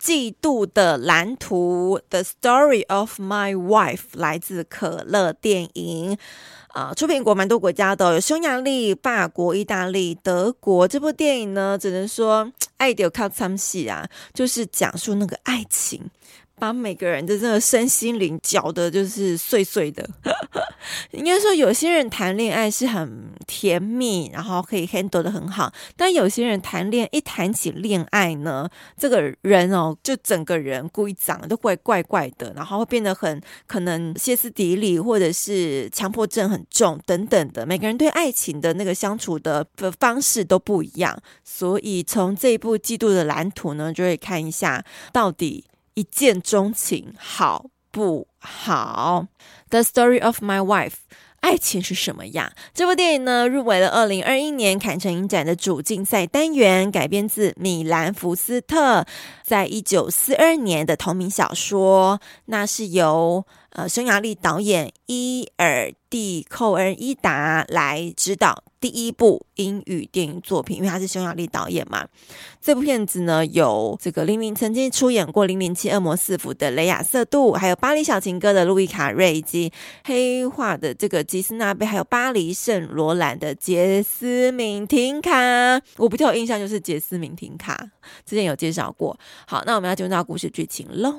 嫉妒的藍圖 The Story of My Wife 來自可樂電影出品國蠻多國家的，有匈牙利、法國、意大利、德國。這部電影呢，只能說愛就靠參戲啊，就是講述那個愛情，把每個人的這個身心靈攪得就是碎碎的。應該說有些人談戀愛是很甜蜜，然後可以 handle 得很好，但有些人一談起戀愛呢，這個人就整個人故意長得都怪怪的，然後會變得很可能歇斯底里，或者是強迫症很重等等的。每個人對愛情的那個相處的方式都不一樣，所以從這一部《嫉妒的藍圖》呢，就會看一下到底一見鍾情好不好。 The Story of My Wife， 愛情是什麼樣？這部電影呢，入圍了2021年坎城影展的主競賽單元，改編自米蘭福斯特在1942年的同名小說，那是由匈牙利導演伊爾蒂寇恩伊達來指導第一部英語電影作品，因為他是匈牙利導演嘛。這部片子呢，有這個曾經出演過007惡魔4伏的雷亞瑟杜，還有巴黎小情歌的路易卡瑞，以及黑化的這個吉斯納貝，還有巴黎聖羅蘭的傑斯敏廷卡。我比較有印象就是傑斯敏廷卡，之前有介紹過。好，那我們要進入到故事劇情嘍。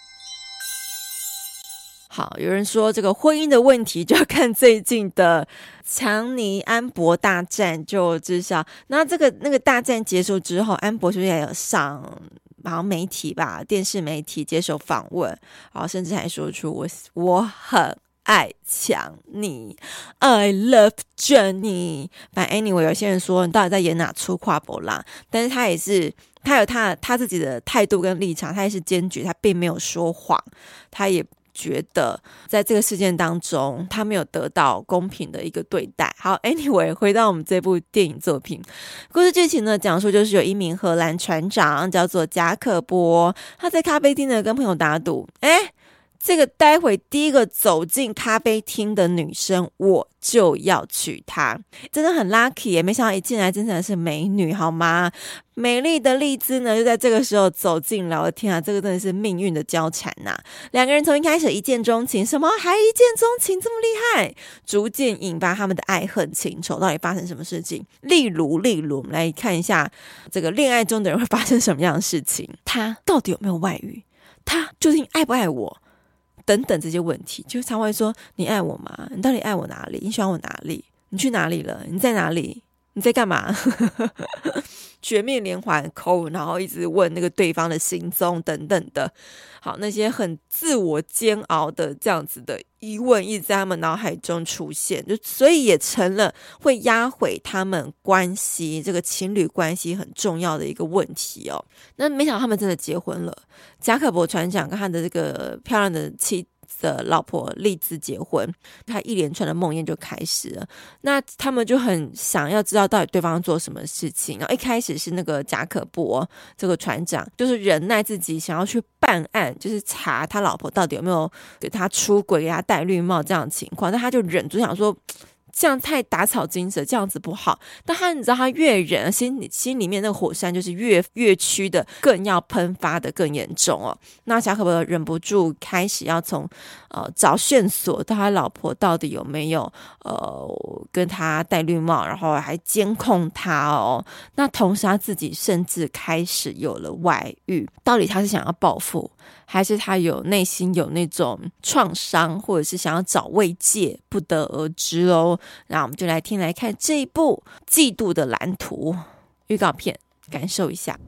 好，有人說這個婚姻的問題就要看最近的強尼安博大戰就知曉。那那個大戰結束之後，安博是不是也有上好像媒體吧，電視媒體接受訪問，然後甚至還說出我很愛強尼 I love Johnny。 反正 anyway， 有些人說你到底在演哪出跨博啦，但是他有他自己的態度跟立場，他也是堅決，他並沒有說謊，他也覺得在這個事件當中他沒有得到公平的一個對待。好 anyway， 回到我們這部電影作品，故事劇情呢，講述就是有一名荷蘭船長叫做賈可波，他在咖啡廳呢跟朋友打賭，這個待會第一個走進咖啡廳的女生，我就要娶她。真的很 lucky 耶，沒想到一進來真的是美女，好嗎？美麗的麗茲呢，就在這個時候走進來。我的天啊，這個真的是命運的交纏吶！兩個人從一開始一見鍾情，什麼還一見鍾情這麼厲害，逐漸引發他們的愛恨情仇。到底發生什麼事情？例如，我們來看一下這個戀愛中的人會發生什麼樣的事情。他到底有沒有外遇？他究竟愛不愛我？等等這些問題，就常會說，你愛我嗎？你到底愛我哪裡？你喜歡我哪裡？你去哪裡了？你在哪裡？你在幹嘛？絕命連環扣，然後一直問那個對方的行蹤等等的。好，那些很自我煎熬的這樣子的疑問一直在他們腦海中出現，就所以也成了會壓毀他們關係，這個情侶關係很重要的一個問題哦。那沒想到他們真的結婚了，賈可波船長跟他的這個漂亮的妻的老婆麗茲結婚，他一連串的夢魘就開始了。那他們就很想要知道到底對方做什麼事情。然後一開始是那個賈可波這個船長，就是忍耐自己想要去辦案，就是查他老婆到底有沒有給他出軌、給他戴綠帽這樣的情況。但他就忍住想說，這樣太打草驚蛇，這樣子不好。但你知道他越忍，心裡面那個火山就是越趨的更要噴發的更嚴重哦。那賈可波忍不住開始要從找線索，到他老婆到底有沒有跟他戴綠帽，然後還監控他哦。那同時他自己甚至開始有了外遇，到底他是想要報復，還是他內心有那種創傷，或者是想要找慰藉，不得而知哦。那我們就来看這一部《嫉妒的藍圖》預告片，感受一下。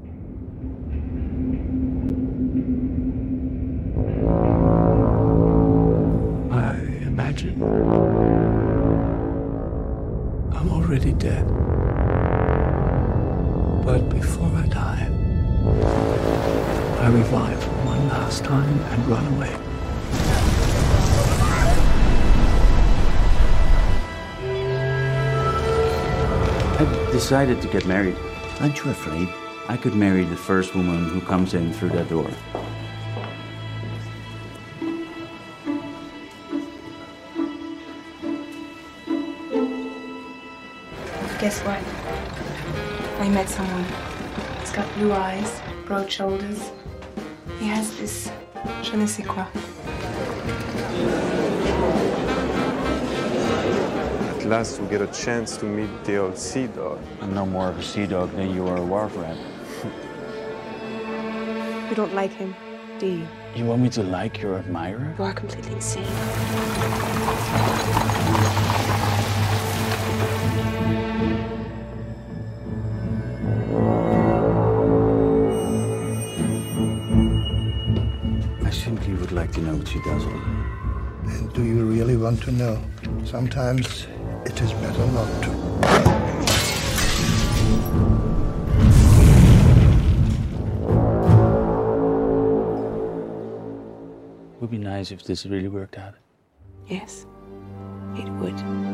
I imagine I'm already dead, but before I die, I revive one last time and run away. I've decided to get married. Aren't you afraid? I could marry the first woman who comes in through that door. Guess what? I met someone. He's got blue eyes, broad shoulders, He has this je ne sais quoi. At last we get a chance to meet the old sea dog. I'm no more of a sea dog than you are a wharf rat. You don't like him, do you? You want me to like your admirer? You are completely insane. I simply would like to know what she does all day. And do you really want to know? Sometimes it is better not to. It would be nice if this really worked out. Yes, it would.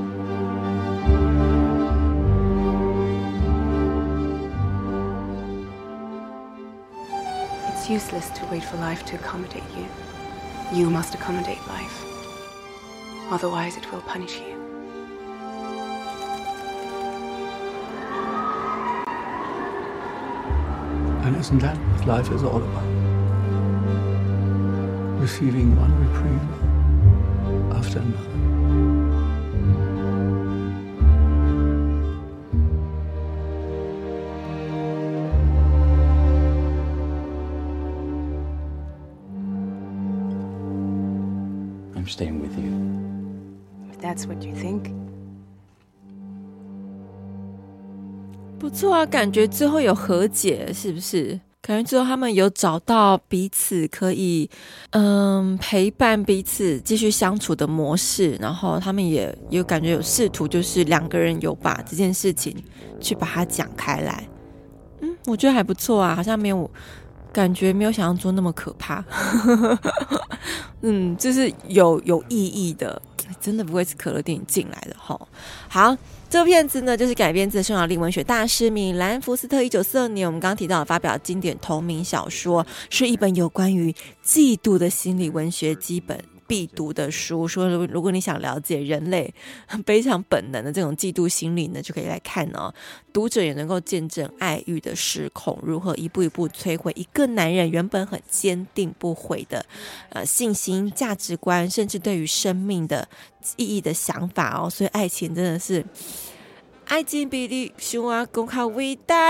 It's useless to wait for life to accommodate you. You must accommodate life. Otherwise, it will punish you. And isn't that what life is all about? Receiving one reprieve after another. I'm staying with you. If that's what you think. 不错啊，感觉最后有和解，是不是？感觉最后他们有找到彼此可以陪伴彼此继续相處的模式，然後他們也有感覺有試圖，就是兩個人有把這件事情去把它講開來。我覺得還不錯啊，好像沒有感覺沒有想象中那麼可怕。就是有意義的，真的不會是可樂電影進來的齁。好，這部片子呢，就是改編自匈牙利文學大師米蘭·福斯特1942年我們剛剛提到的發表經典同名小說，是一本有關於嫉妒的心理文學基本必讀的書。說如果你想了解人類非常本能的這種嫉妒心理呢，就可以來看哦。讀者也能夠見證愛慾的失控如何一步一步摧毀一個男人原本很堅定不悔的信心、價值觀，甚至對於生命的意義的想法哦。所以愛情真的是愛情比你想啊更加偉大。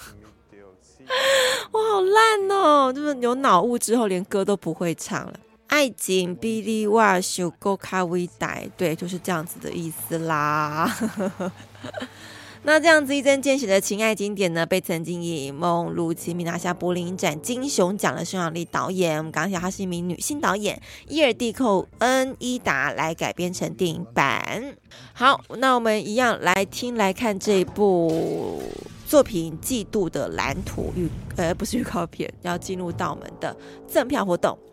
我好爛哦，就是有腦霧之後連歌都不會唱了。愛情比你我想更加偉大，對，就是這樣子的意思啦。那這樣子一針見血的情愛經典呢，被曾經以《夢露琪米》拿下柏林影展金熊獎的匈牙利導演，我們剛剛講她是一名女性導演伊爾蒂寇恩伊達來改編成電影版。好，那我們一樣來聽來看這一部作品《嫉妒的藍圖》不是預告片，要進入到我們的贈票活動。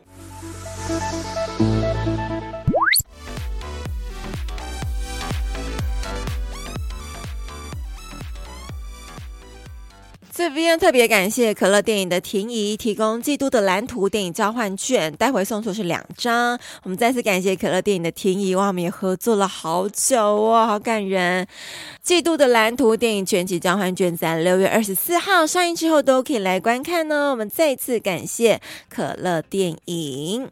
這邊特別感謝可樂電影的婷宜提供《嫉妒的藍圖》電影交換券，待會送出是2張。我們再次感謝可樂電影的婷宜，哇，我們也合作了好久哦，好感人。《嫉妒的藍圖》電影全集交換券在6月24號上映之後都可以來觀看哦。我們再次感謝可樂電影。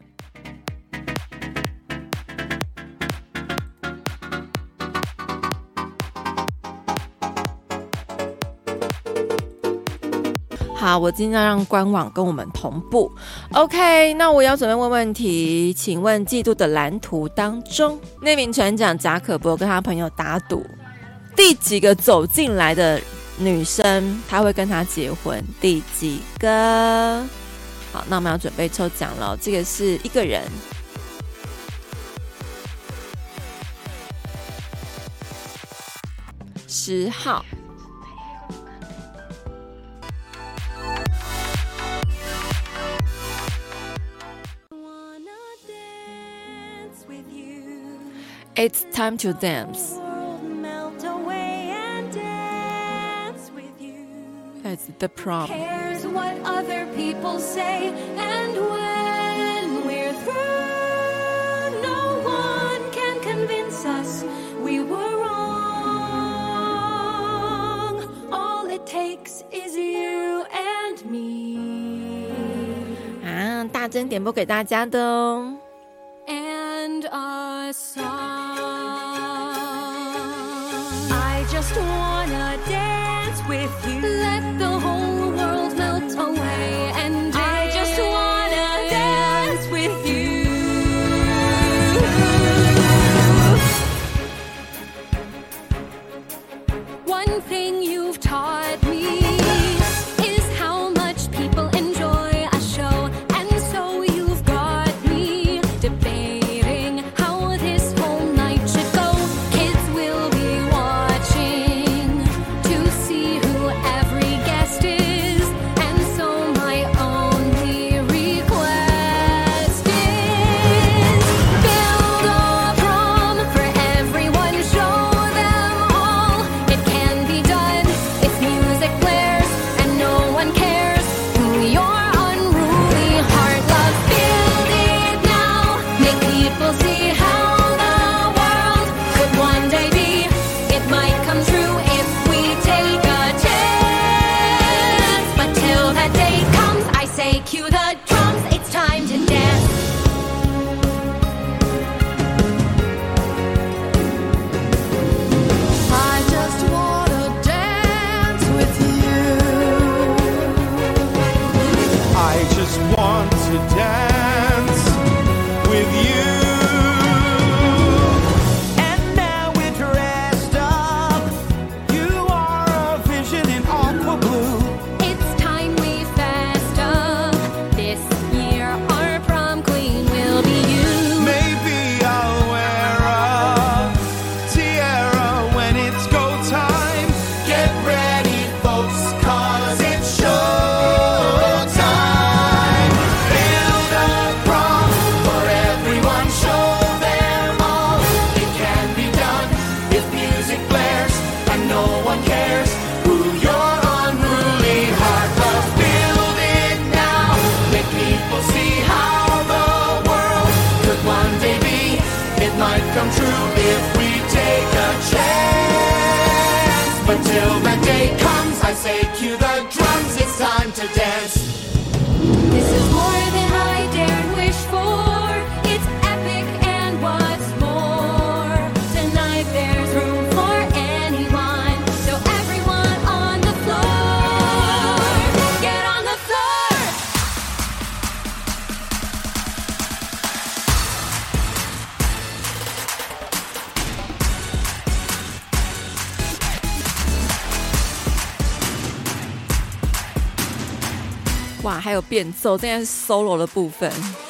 好，我今天要讓官網跟我們同步。OK， 那我要準備問問題，請問《嫉妒的藍圖》當中，那名船長賈可伯跟他朋友打賭，第幾個走進來的女生他會跟他結婚？第幾個？好，那我們要準備抽獎了，這個是一個人。10號。It's time to dance. It's the prom. Cares what other people say, and when we're through, no one can convince us we were wrong. All it takes is you and me. 珍點播給大家的哦。 And a song. I just wanna dance with you. Let the whole world melt away. And I just wanna dance with you. One thing you've taught me is how much people enjoy a show. And so you've got me debating how this whole night should go. Kids will be watching to see who every guest is. And so my only request is build a prom for everyone, show them all it can be done if music blares and no one cares who your unruly heart loves. Build it now, make people see how the world could one day be. It might come true if we take a chance. But till that day comes, I say cue the drums, it's time to dance. I just wanna dance with you. I just want to dance with you. And now we're dressed up. You are a vision in aqua blue. It's time we fessed up. This year our prom queen will be you. Maybe I'll wear a tiara when it's go time. Get ready, folks, 'cause it's show time. Build a prom for everyone, show them all it can be done if music blares and no one cares who your unruly heart loves. Build it now, make people see how the world could one day be. It might come true if we take a chance. But till that day comes, I say cue the drums, it's time to dance. This is more than I dared wish for. It's epic and what's more. Tonight there's room for anyone. So everyone on the floor, get on the floor. 哇，还有变奏，这应该是 solo 的部分。